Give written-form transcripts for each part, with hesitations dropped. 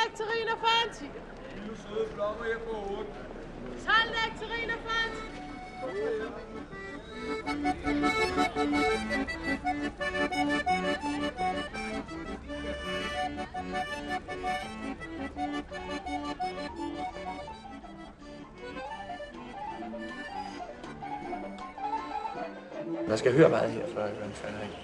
nektarin og fanti. Lille søde blommer her på hovedet. 12 nektarin og fanti. Man skal høre meget her, før man falder af.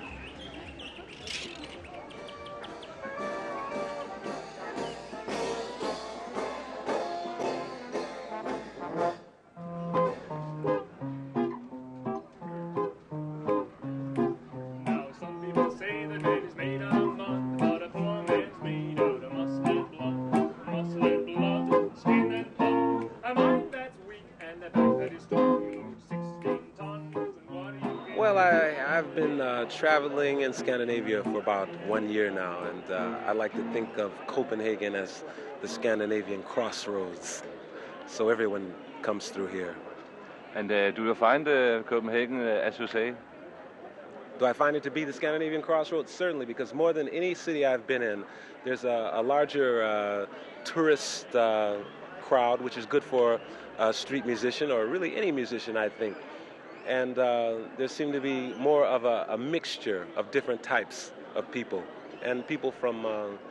Well, I've been traveling in Scandinavia for about 1 year now, and I like to think of Copenhagen as the Scandinavian crossroads, so everyone comes through here. And do you find Copenhagen, as you say? Do I find it to be the Scandinavian crossroads? Certainly, because more than any city I've been in, there's a larger tourist crowd, which is good for a street musician, or really any musician, I think. And there seem to be more of a mixture of different types of people, and people from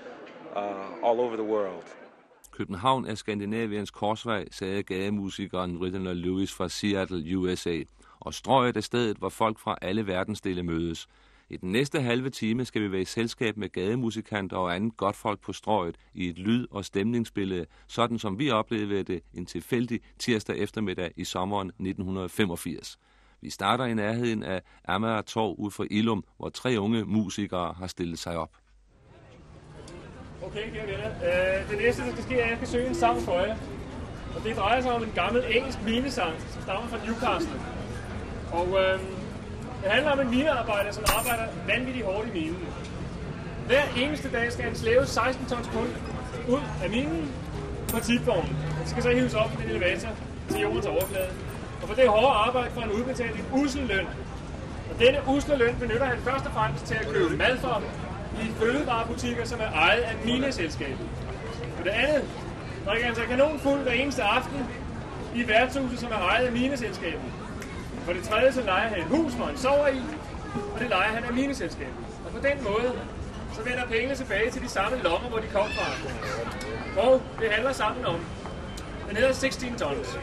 all over the world. København er Skandinaviens korsvej, sagde gademusikeren Ridley Lewis fra Seattle, USA. Og Strøget er stedet, hvor folk fra alle verdensdele mødes. I den næste halve time skal vi være i selskab med gademusikanter og andet godt folk på Strøget i et lyd- og stemningsbillede, sådan som vi oplevede det en tilfældig tirsdag eftermiddag i sommeren 1985. Vi starter i nærheden af Amager Torv ud for Illum, hvor 3 unge musikere har stillet sig op. Okay, kære venner. Det næste, der skal ske, er, at jeg skal synge en sang for jer. Og det drejer sig om en gammel engelsk minesang, som stammer fra Newcastle. Og det handler om en minearbejder, som arbejder vanvittigt hårdt i minen. Hver eneste dag skal han slæve 16 tons kul ud af minen på tipvognen. Det skal så hives op med en elevator til jordens overflade. Og for det hårde arbejde får han udbetalt en ussel løn. Og denne usle løn benytter han først og fremmest til at købe mad for i fødevarebutikker, som er ejet af mineselskabet. For det andet drikker han sig kanonfuld hver eneste aften i værtshuset, som er ejet af mineselskabet. For det tredje så lejer han et hus, hvor han sover i, og det lejer han af mineselskabet. Og på den måde så vender pengene tilbage til de samme lommer, hvor de kom fra. Og det handler sammen om. Den hedder 16 tons.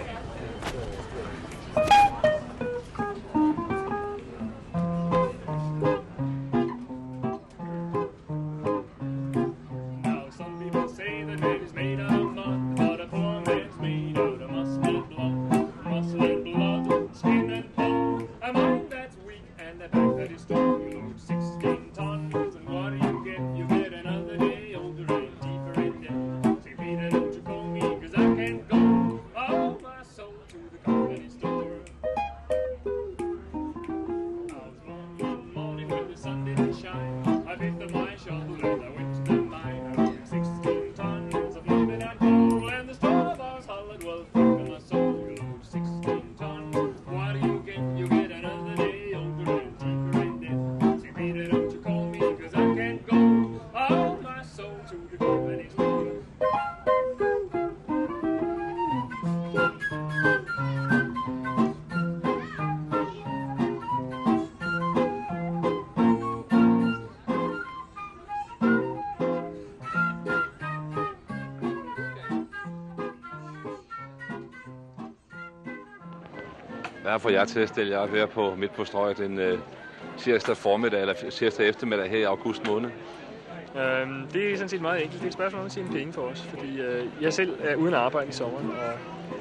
Hvad får jeg til at stille jer op her på midt på Strøget en tirsdag formiddag eller tirsdag eftermiddag her i august måned? Det er sådan set meget enkelt. Det er et spørgsmål om at tjene penge for os, fordi jeg selv er uden arbejde i sommeren, og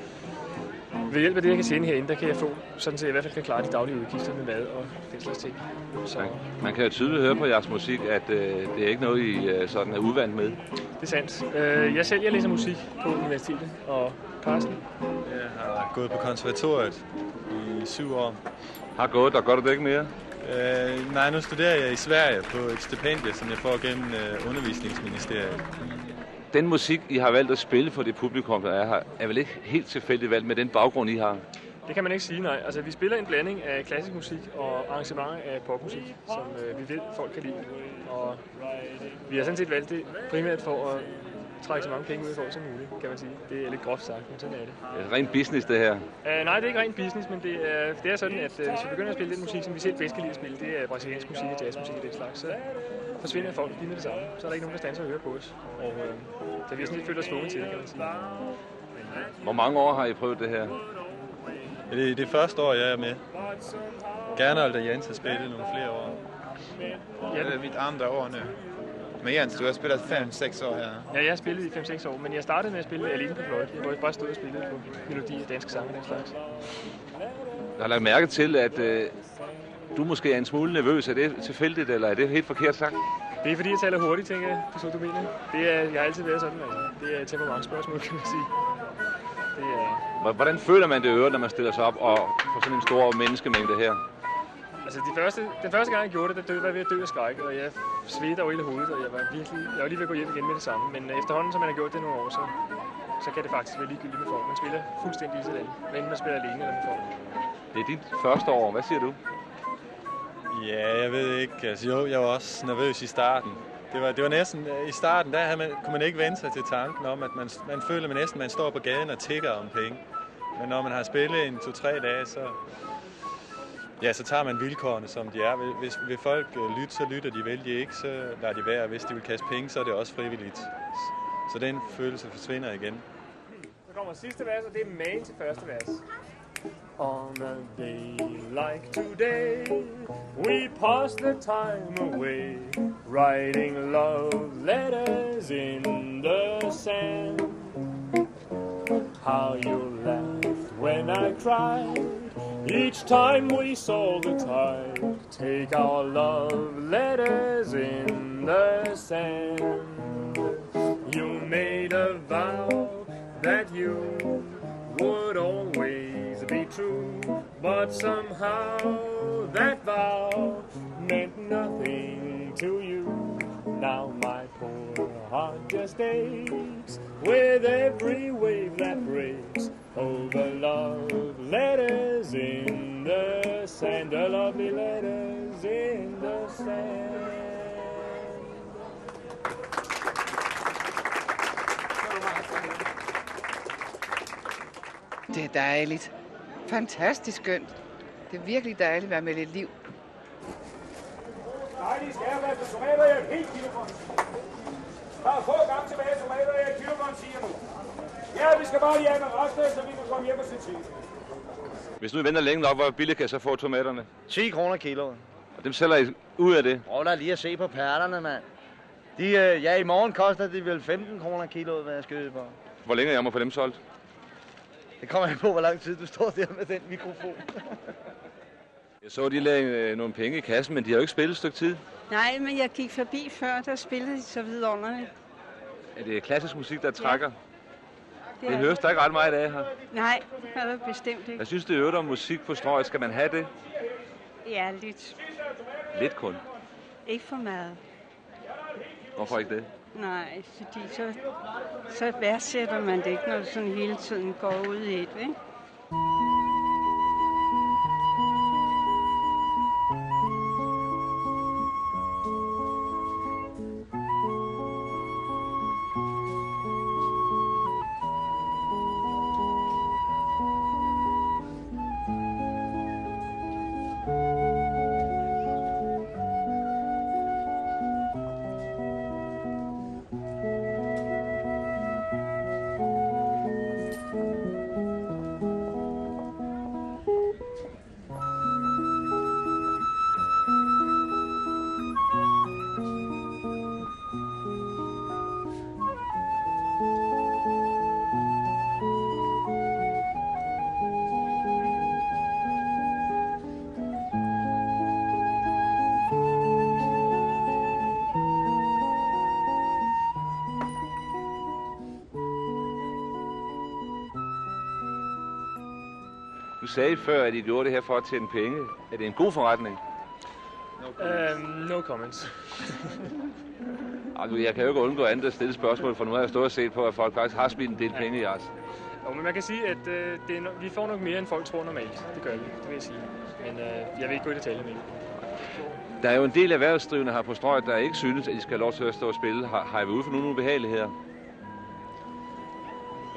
ved hjælp af det, jeg kan tjene herinde, der kan jeg få, sådan så jeg i hvert fald kan klare de daglige udgifter med mad og den slags ting. Så man kan jo tydeligt høre på jeres musik, at det er ikke noget, I sådan er uvant med. Det er sandt. Jeg læser musik på universitetet, og Carsten? Jeg har gået på konservatoriet i 7 år. Har gået, og gør du det ikke mere? Nej, nu studerer jeg i Sverige på et stipendie, som jeg får gennem undervisningsministeriet. Den musik, I har valgt at spille for det publikum, der er her, er vel ikke helt tilfældigt valgt med den baggrund, I har? Det kan man ikke sige, nej. Altså, vi spiller en blanding af klassisk musik og arrangementer af popmusik, som vi ved, folk kan lide. Og vi har sådan set valgt det primært for at trække så mange penge ud for som muligt, kan man sige. Det er lidt groft sagt, men sådan er det. Det er rent business, det her. Nej, det er ikke rent business, men det er sådan, at hvis vi begynder at spille den musik, som vi selv bedst kan lide at spille, det er brasiliansk musik og jazzmusik og den slags, så forsvinder folk lige med det samme. Så er der ikke nogen, der standser og hører på os. Og der vi sådan lidt føler os tvunget til det, kan man sige. Hvor mange år har I prøvet det her? Det er det første år, jeg er med. Gernald og Jens har spillet nogle flere år. Ja, det er mit andre år nu. Men Jens, du har spillet 5-6 år her. Ja, jeg har spillet i 5-6 år, men jeg startede med at spille alene på fløjte. Jeg bare stod og spillede på melodi og danske sange og den slags. Jeg har lagt mærke til, at du måske er en smule nervøs. Er det tilfældigt, eller er det helt forkert sagt? Det er fordi, jeg taler hurtigt, tænker jeg, på du mener. Jeg har altid været sådan, altså. Det er et temperamentsspørgsmål, kan man sige. Hvordan føler man det øvrigt, når man stiller sig op og får sådan en stor menneskemængde her? Altså, den første gang, jeg gjorde det, der var jeg ved at dø af skræk, og jeg svedte over hele hovedet, og jeg var lige ved at gå hjem igen med det samme. Men efterhånden, som man har gjort det nogle år, så kan det faktisk være ligegyldigt med folk. Man spiller fuldstændig lige sådan, men man spiller alene eller med folk. Det er dit første år. Hvad siger du? Ja, jeg ved ikke. Altså, jo, jeg var også nervøs i starten. Det var næsten, i starten, der kunne man ikke vende sig til tanken om, at man føler næsten, at man står på gaden og tigger om penge. Men når man har spillet en 2-3 dage, så tager man vilkårene, som de er. Hvis vil folk lytte, så lytter de. Vil de ikke, så lader de være. Hvis de vil kaste penge, så er det også frivilligt. Så den følelse forsvinder igen. Så kommer sidste vers, og det er main til første vers. On a day like today, we pass the time away, writing love letters in the sand. How you laughed when I cried, each time we saw the tide, take our love letters in the sand. You made a vow that you would always be true, but somehow that vow meant nothing to you. Now my poor heart just aches with every wave that breaks over love letters in the sand, the lovely letters in the sand. Det er dejligt. Fantastisk skønt. Det er virkelig dejligt at være med lidt liv. Dejlige skærværste tomater, jeg er helt kilograms. Der er få gange tilbage tomater, jeg er kilograms, siger nu. Ja, vi skal bare lige have med resten, så vi kan komme hjem og se til. Hvis nu I venter længe nok, hvor billigt kan jeg så få tomaterne? 10 kroner kiloet. Og dem sælger I ud af det? Prøv da lige at se på pærterne, mand. I morgen koster de vel 15 kroner kiloet, hvad jeg skal på. Hvor længe jeg må få dem solgt? Det kommer ikke på, hvor lang tid du står der med den mikrofon. Jeg så, de lagde nogle penge i kassen, men de har jo ikke spillet et stykke tid. Nej, men jeg gik forbi før, der spillede de så vidunderligt. Er det klassisk musik, der trækker? Ja. Det høres der ikke ret meget af her. Nej, det er det bestemt ikke. Jeg synes, det er øvrigt om musik på Strøget. Skal man have det? Ja, lidt. Lidt kun? Ikke for meget. Hvorfor ikke det? Nej, fordi så værdsætter man det ikke, når du sådan hele tiden går ud i et, ikke? Du sagde før, at I gjorde det her for at tjene penge. Er det en god forretning? No comments. Altså, jeg kan jo ikke undgå andet at stille spørgsmål, for nu har jeg stået og set på, at folk faktisk har smidt en del penge i os. Jo, men man kan sige, at vi får nok mere, end folk tror normalt. Det gør vi, det vil jeg sige. Men jeg vil ikke gå i detaljer med det. Der er jo en del erhvervsdrivende her på Strøget, der ikke synes, at de skal have lov til at stå og spille. Har I været ude for nogle ubehageligheder?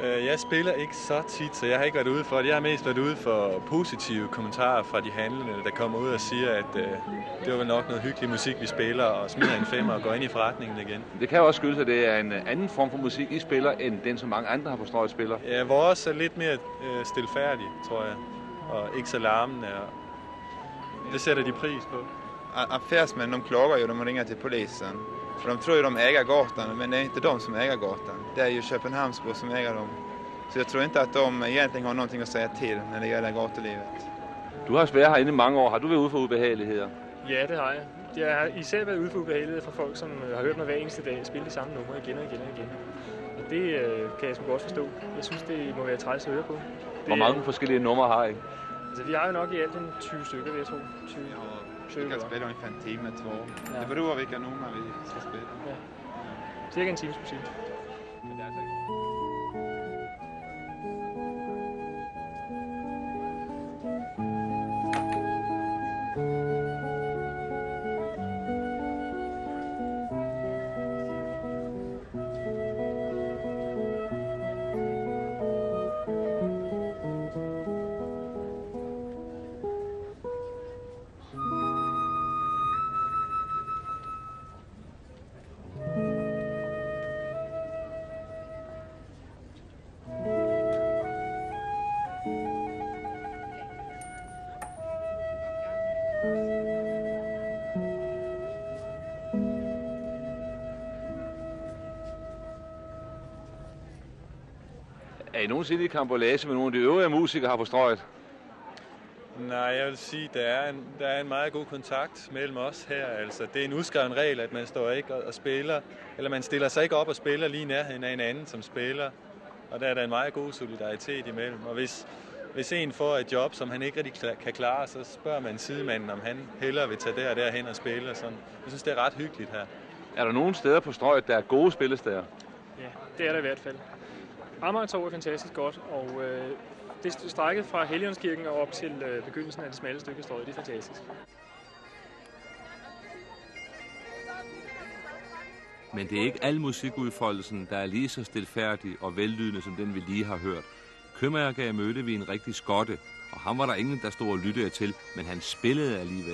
Jeg spiller ikke så tit, så jeg har ikke været ude for det. Jeg har mest været ude for positive kommentarer fra de handlende, der kommer ud og siger, at det var nok noget hyggelig musik, vi spiller, og smider en femmer og går ind i forretningen igen. Det kan jo også skyldes, at det er en anden form for musik, I spiller, end den, som mange andre har på Strøget spiller. Ja, vores er lidt mere stilfærdig, tror jeg, og ikke så larmende. Det sætter de pris på. Affärsmän, de klagar ju, de ringer till polisen. För de tror ju de äger gatan, men det är inte de som äger gatan. Det är ju Köpenhamnsbor som äger dem. Så jag tror inte att de egentligen har någonting att säga till när det gäller gatulivet. Du har været herinde i mange år. Har du været ude for ubehageligheder? Ja, det har jeg. Jeg har især været ude for ubehageligheder fra folk, som har hørt mig hver eneste dag spille de samme numre igen og igen og igen. Og det kan jeg sgu godt forstå. Jeg synes, det må være træls at høre på. Hvor mange forskellige numre har I? Altså, vi har jo nok i alt 20 stykker, vil jeg tro. 20. Vi kan spille ungefär en time, 2. Ja. Det beror på, hvilke numre vi skal spille. Ja. Cirka en times musik. Er I nogensinde i karambolage med nogle af de øvrige musikere her på Strøget? Nej, jeg vil sige, der er en meget god kontakt mellem os her. Altså, det er en udskreven regel, at man står ikke og spiller, eller man stiller sig ikke op og spiller lige nærheden af en anden, som spiller. Og der er der en meget god solidaritet imellem. Og hvis en får et job, som han ikke rigtig kan klare, så spørger man sidemanden, om han hellere vil tage der og derhen og spille. Sådan. Jeg synes, det er ret hyggeligt her. Er der nogle steder på Strøget, der er gode spillesteder? Ja, det er der i hvert fald. Amagertorv er fantastisk godt, og det strækket fra Helligåndskirken og op til begyndelsen af det smalle stykke Strøget, det er fantastisk. Men det er ikke al musikudfoldelsen, der er lige så stilfærdig og vellydende, som den vi lige har hørt. Købmærker mødte vi en rigtig skotte, og ham var der ingen, der stod og lyttede til, men han spillede alligevel.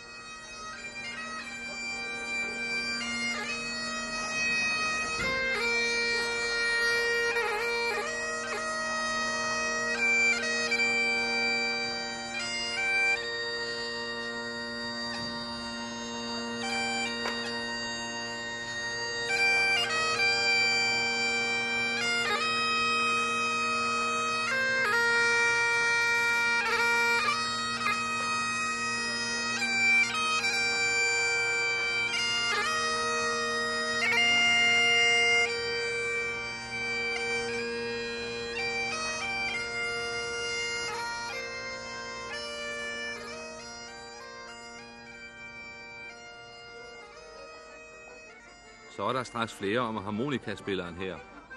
Så er der straks flere om harmonikaspilleren her.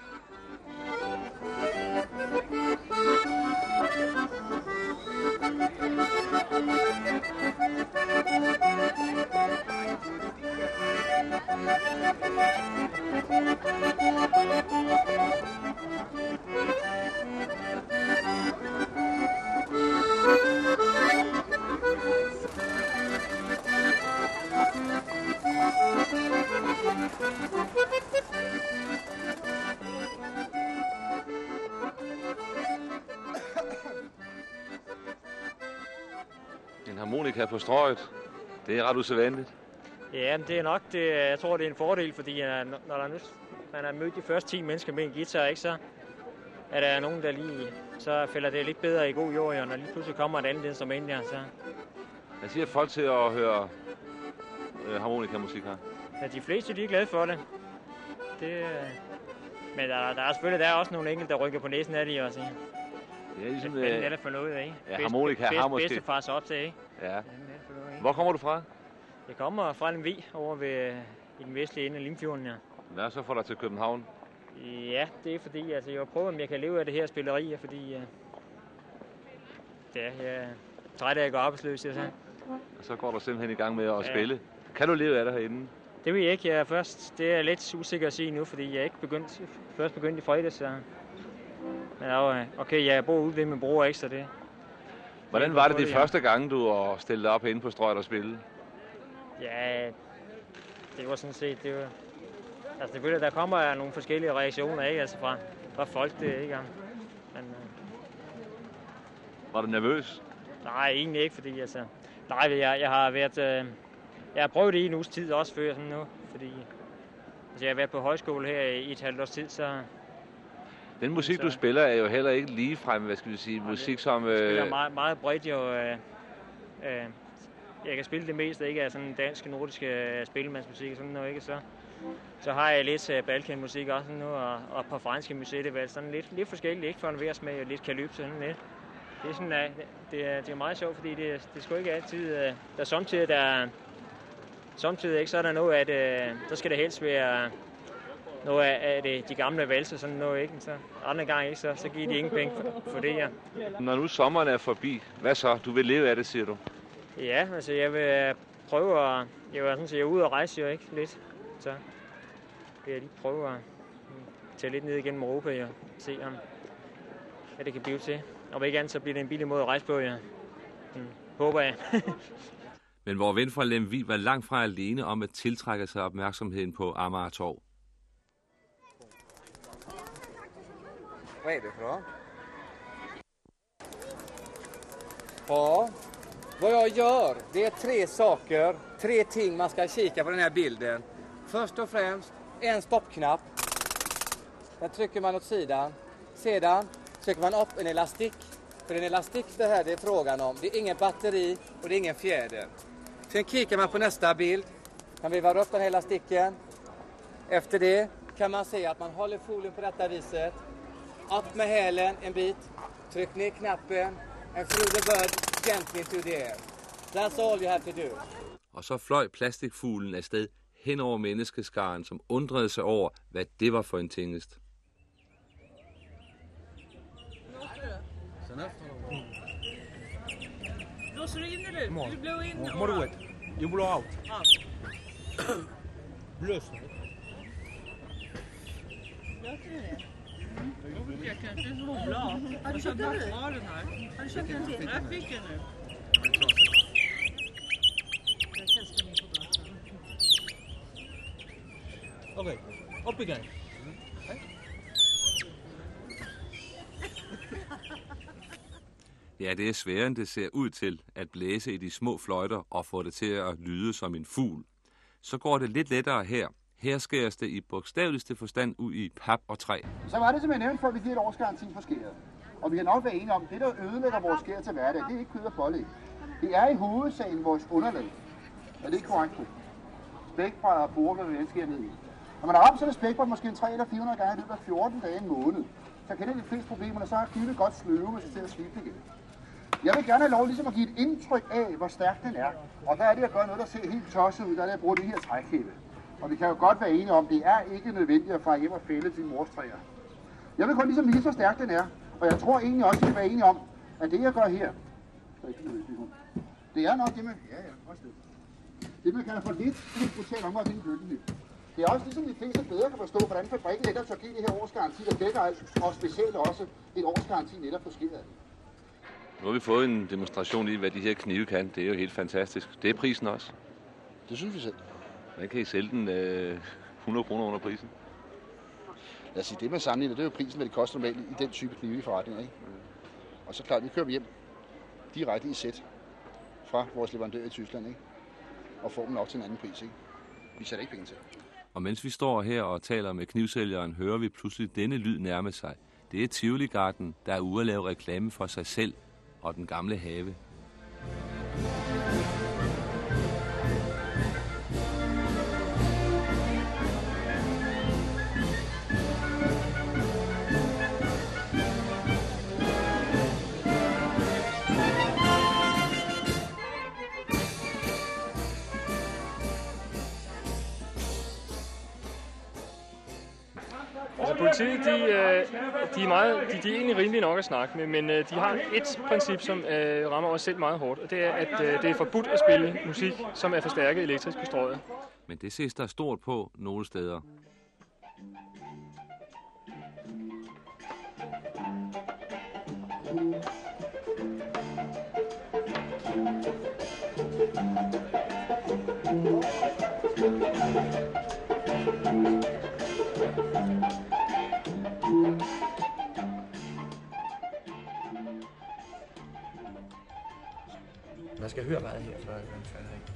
En harmonika på Strøget, det er ret usædvanligt. Ja, det er nok det. Jeg tror, det er en fordel, fordi når man har mødt de første 10 mennesker med en guitar, ikke, så er der nogen, der lige, så falder det lidt bedre i god jord, og når lige pludselig kommer et andet instrument der, så... Hvad siger folk til at høre harmonikamusik her? Ja, de fleste de er glade for det. Men der er selvfølgelig også nogle enkelte, der rykker på næsen af det også. Det er ligesom... Det er det for noget, ikke? Ja, harmonika har måske... Bedstefars op til, ikke? Ja. Hvor kommer du fra? Jeg kommer fra Lemvig, over ved i den vestlige ende af Limfjorden, ja. Hvad så får dig til København? Ja, det er fordi, altså, jeg prøver, om jeg kan leve af det her spilleri, fordi jeg er træt af at gå arbejdsløs, jeg sagde. Og så går du simpelthen i gang med at spille. Kan du leve af det herinde? Det vil jeg ikke. Det er lidt usikker at sige nu, fordi jeg ikke først begyndt i fredags. Så Men okay, jeg bor ude ved min bror, ikke, så det... Hvordan var det de første gange, du stillede op inde på Strøget og spille? Ja, det var sådan set, det var... Altså selvfølgelig, der kommer nogle forskellige reaktioner, ikke, altså fra folk, det ikke, men... Var du nervøs? Nej, egentlig ikke, fordi altså... Nej, jeg har været... jeg har prøvet det i en uges tid også før, sådan nu, fordi... Altså, jeg har været på højskole her i et halvt års tid, så... Den musik, du spiller, er jo heller ikke ligefrem, hvad skal vi sige, musik som... Jeg spiller meget bredt jo... jeg kan spille det meste, ikke af sådan dansk, nordisk spillemandsmusik og sådan noget, ikke? Så har jeg lidt balkanmusik også nu, og på franske musik, det er sådan lidt forskelligt, ikke for en vers med lidt kalypso, sådan lidt. Det er sådan, det er meget sjovt, fordi det er sgu ikke altid, der er samtidig ikke, så er der noget, at der skal det helst være noget af de gamle valser, sådan noget, ikke? Så andre gange ikke, så giver de ingen penge for det, ja. Når nu sommeren er forbi, hvad så? Du vil leve af det, siger du? Ja, altså jeg vil prøve at... Jeg er ude og rejse jo, ikke? Lidt. Så vil jeg lige prøve at tage lidt ned igennem Europa og se, om hvad det kan blive til. Og ikke andet, så bliver det en billig måde at rejse på, ja. Håber jeg. Men vor ven fra Lemvig var langt fra alene om at tiltrække sig opmærksomheden på Amager Torv. Vad är det för något? Ja, vad jag gör, det är 3 saker, 3 ting man ska kika på den här bilden. Först och främst en stoppknapp. Den trycker man åt sidan. Sedan trycker man upp en elastik. För en elastik det här det är frågan om. Det är ingen batteri och det är ingen fjäder. Sen kikar man på nästa bild. Man vivar upp den här elastiken. Efter det kan man se att man håller folien på detta viset. Upp med hälen en bit. Tryck ner knappen. And through the bird gently into the air. That's all you have to do. Og så fløj plastikfuglen afsted hen over menneskeskaren, som undrede sig over, hvad det var for en tingest. Blåser du in nu? Vill du blå in? Moruet. You blow out. Blås. Låter det? Jag kanske är bra. Har du köpt den nu? Ja, den här. Har du köpt den till? Jag fick den nu. Jag testar min på datorn. Okay, upp igen. Ja, det er sværere, end det ser ud til at blæse i de små fløjter og få det til at lyde som en fugl. Så går det lidt lettere her. Her skæres det i bogstaveligste forstand ud i pap og træ. Så var det, som jeg nævnte før, vi giver et årsgaranti for skæret. Og vi kan nok være enige om, det der ødelægger vores skær til hverdag, det er ikke kød og pålæg. Det er i hovedsagen vores underlag. Er det ikke korrekt? Spækbrædder og borer, hvad vi skærer ned i. Når man har ramt sådan et spækbræd måske 300 eller 400 gange i løbet af 14 dage en måned, så kender de fleste problemer, så er kniven godt sløve med sig til at slippe igen. Jeg vil gerne have lov ligesom at give et indtryk af, hvor stærk den er. Og der er det at gøre noget, der ser helt tosset ud, der er det at bruge det her trækhæppe. Og vi kan jo godt være enige om, det er ikke nødvendigt at fare hjem og fælde til mors træer. Jeg vil kun ligesom vise, hvor stærk den er. Og jeg tror egentlig også, at vi kan være enige om, at det jeg gør her, det er nok det, man kalder for lidt brutal omgang til en køkkenliv. Det er også ligesom de fleste bedre kan forstå, hvordan fabrikken netop så giver det her årsgaranti, og dækker alt, og specielt også et årsgaranti netop for skæret. Nu har vi fået en demonstration i, hvad de her knive kan. Det er jo helt fantastisk. Det er prisen også. Det synes vi selv. Hvordan kan I sælge den 100 kroner under prisen? Lad os sige, det man sammenligner, det er jo prisen, hvad det koster normalt i den type knive i forretninger, ikke? Og så klart, vi kører hjem direkte i sæt fra vores leverandør i Tyskland, ikke? Og får dem nok til en anden pris, ikke? Vi sætter ikke penge til. Og mens vi står her og taler med knivsælgeren, hører vi pludselig denne lyd nærme sig. Det er Tivoli-garden, der er ude at lave reklame for sig selv og den gamle have. Altså politiet, de er egentlig rimelige nok at snakke med, men de har et princip, som rammer os selv meget hårdt, og det er, at det er forbudt at spille musik, som er forstærket elektrisk på Strøget. Men det ses der stort på nogle steder. Man skal høre meget her, før jeg falder af.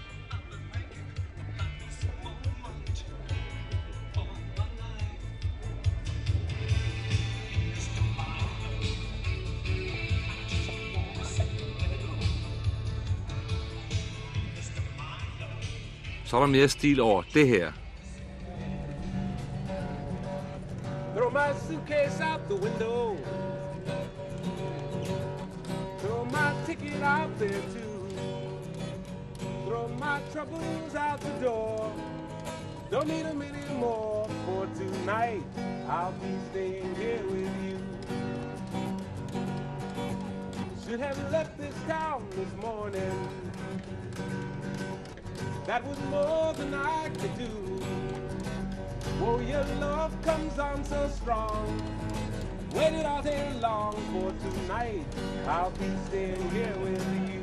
Så er der mere stil over det her. Throw my suitcase out the window. Throw my ticket out there too. Throw my troubles out the door. Don't need them anymore for tonight. I'll be staying here with you. Should have left this town this morning. That was more than I could do. Oh, your love comes on so strong. Waited all day long for tonight. I'll be staying here with you.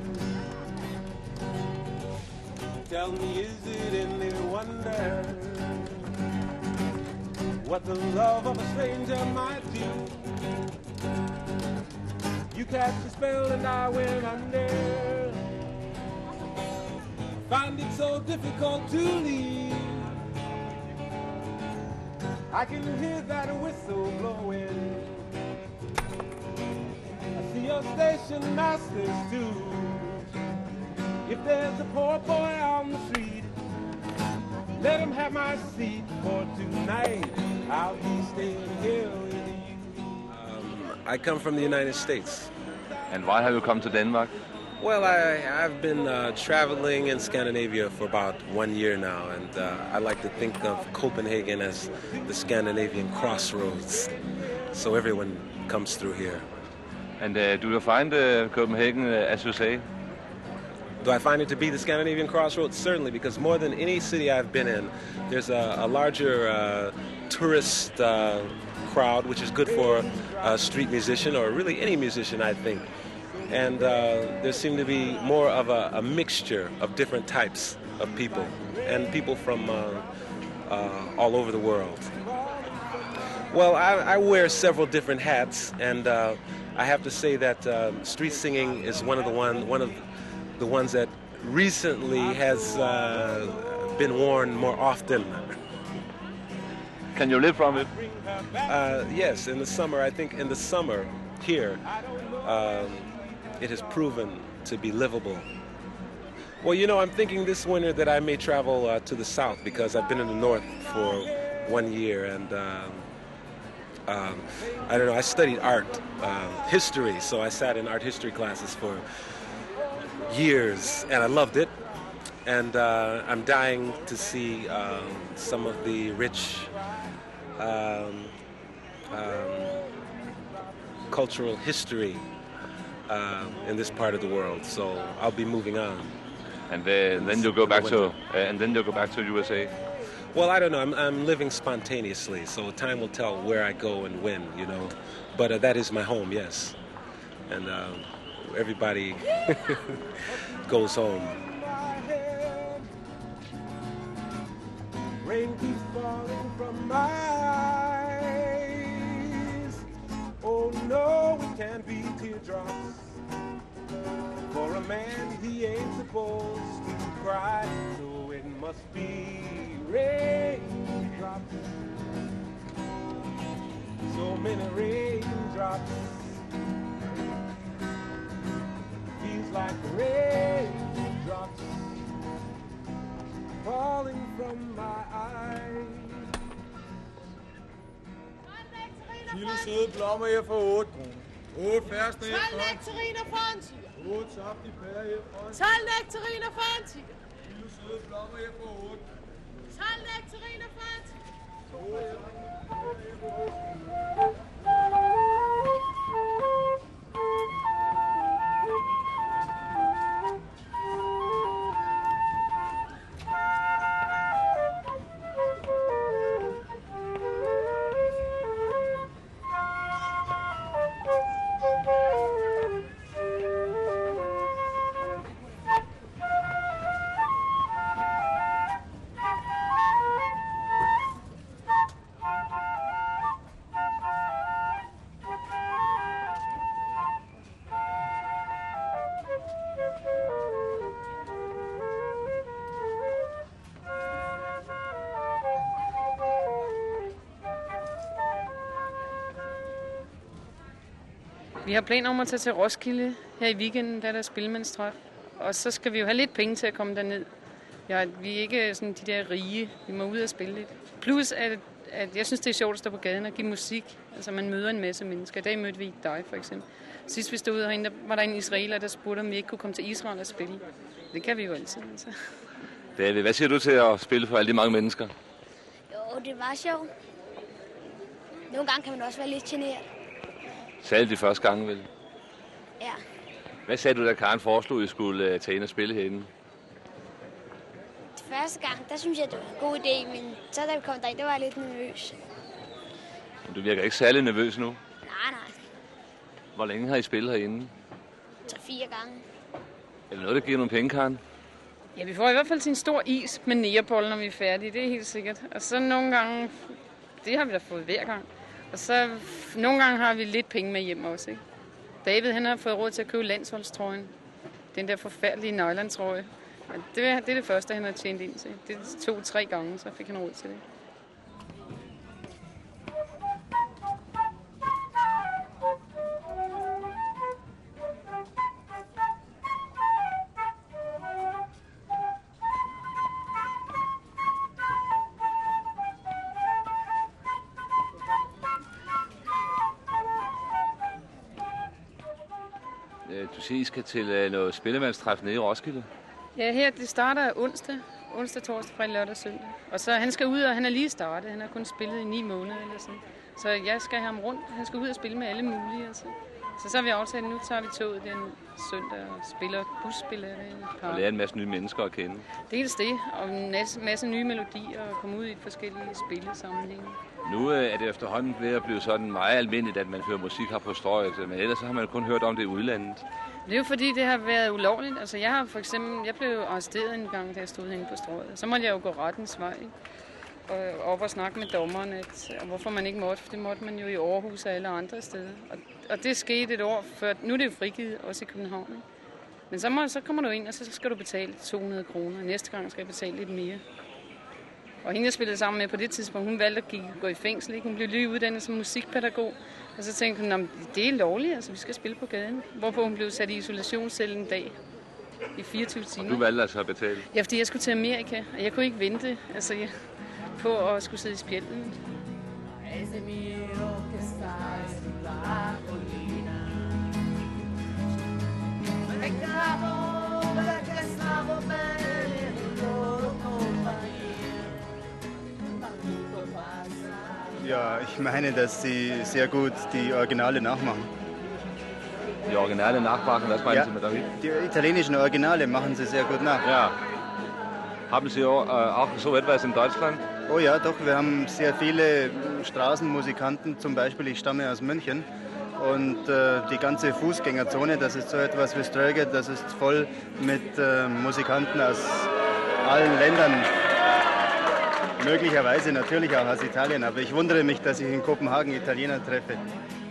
Tell me, is it any wonder what the love of a stranger might do? You cast a spell and I went under. Find it so difficult to leave. I can hear that whistle blowing. I see your station masters too. If there's a poor boy on the street, let him have my seat for tonight. I'll be staying here with you. I come from the United States. And why have you come to Denmark? Well, I've been traveling in Scandinavia for about 1 year now, and I like to think of Copenhagen as the Scandinavian crossroads, so everyone comes through here. And do you find Copenhagen, as you say? Do I find it to be the Scandinavian crossroads? Certainly, because more than any city I've been in, there's a larger tourist crowd, which is good for a street musician, or really any musician, I think. And there seemed to be more of a mixture of different types of people, and people from all over the world. Well, I wear several different hats, and I have to say that street singing is one of the ones that recently has been worn more often. Can you live from it? Yes, in the summer. I think in the summer here, it has proven to be livable. Well, you know, I'm thinking this winter that I may travel to the south, because I've been in the north for 1 year, and I don't know, I studied art history, so I sat in art history classes for years, and I loved it. And I'm dying to see some of the rich cultural history in this part of the world, so I'll be moving on. And then you'll go back to USA. Well, I don't know. I'm living spontaneously, so time will tell where I go and when, you know. But that is my home, yes. And everybody goes home. Rain keeps falling from my eyes. Oh no, it can't be teardrops. For a man, he ain't supposed to cry, so it must be raindrops. So many raindrops. Feels like raindrops falling from my eyes. Kilo søde blommer her for 8 kroner. 8 færste her 12 nektariner for en tiger. 8 saftige pærer her for en 12 nektariner for en tiger. Kilo søde blommer her for 8. 12 nektariner for en tiger. Vi har planer om at tage til Roskilde her i weekenden, der er der spillemandstræf. Og så skal vi jo have lidt penge til at komme derned. Ja, vi er ikke sådan de der rige. Vi må ud og spille lidt. Plus, at jeg synes, det er sjovt at stå på gaden og give musik. Altså, man møder en masse mennesker. I dag mødte vi dig, for eksempel. Sidst vi stod herinde, der var der en israeler, der spurgte, om vi ikke kunne komme til Israel og spille. Det kan vi jo altid, altså. David, hvad siger du til at spille for alle de mange mennesker? Jo, det var sjovt. Nogle gange kan man også være lidt generet. Særligt de første gange, vel? Ja. Hvad sagde du, da Karen foreslog, at I skulle tage ind og spille herinde? Første gang, der synes jeg, det var en god idé, men så da vi kom derind, der var jeg lidt nervøs. Men du virker ikke særlig nervøs nu? Nej. Hvor længe har I spillet herinde? 3-4 gange. Er det noget, der giver nogle penge, Karen? Ja, vi får i hvert fald til en stor is med negerbolle, når vi er færdige. Det er helt sikkert. Og så nogle gange, det har vi da fået hver gang. Og så nogle gange har vi lidt penge med hjem også, ikke? David, han har fået råd til at købe landsholdstrøjen. Den der forfærdelige nylontrøje. Det er det første, han har tjent ind til. Det 2-3 gange, så fik han råd til det. Du siger, I skal til noget spillemandstræf nede i Roskilde? Ja, her det starter onsdag, torsdag, fredag, lørdag og søndag. Og så han skal ud, og han er lige startet. Han har kun spillet i 9 måneder eller sådan. Så jeg skal have ham rundt. Han skal ud og spille med alle mulige. Altså. Så har vi aftalt, nu tager vi toget den søndag og spiller busspiller. Og lærer en masse nye mennesker at kende. Dels det, og en masse nye melodier og komme ud i forskellige spillesammenhænge. Nu er det efterhånden ved at blive sådan meget almindeligt, at man hører musik her på Strøget, men ellers har man kun hørt om det i udlandet. Det er jo fordi, det har været ulovligt. Altså jeg blev arresteret en gang, da jeg stod herinde på Strøget. Så måtte jeg jo gå rettens vej, ikke? Og op og snakke med dommeren, og hvorfor man ikke måtte, for det måtte man jo i Aarhus og alle andre steder. Og det skete et år før. Nu er det jo frigivet, også i København. Ikke? Men så kommer du ind, og så skal du betale 200 kroner. Næste gang skal jeg betale lidt mere. Og hende, jeg spillede sammen med på det tidspunkt, hun valgte at gå i fængsel. Ikke? Hun blev lige uddannet som musikpædagog. Og så tænkte hun, det er lovligt, altså vi skal spille på gaden. Hvorfor hun blev sat i isolationscelle en dag i 24 timer. Du valgte altså at betale? Ja, fordi jeg skulle til Amerika, og jeg kunne ikke vente på at skulle sidde i spjælden. Ja, ich meine, dass sie sehr gut die Originale nachmachen. Die Originale nachmachen, was meinen Sie mit damit? Die italienischen Originale machen sie sehr gut nach. Ja. Haben Sie auch so etwas in Deutschland? Oh ja, doch, wir haben sehr viele Straßenmusikanten, zum Beispiel, ich stamme aus München. Und die ganze Fußgängerzone, das ist so etwas wie Ströge, das ist voll mit Musikanten aus allen Ländern. Möglicherweise natürlich auch aus Italien, aber ich wundere mich, dass ich in Kopenhagen Italiener treffe.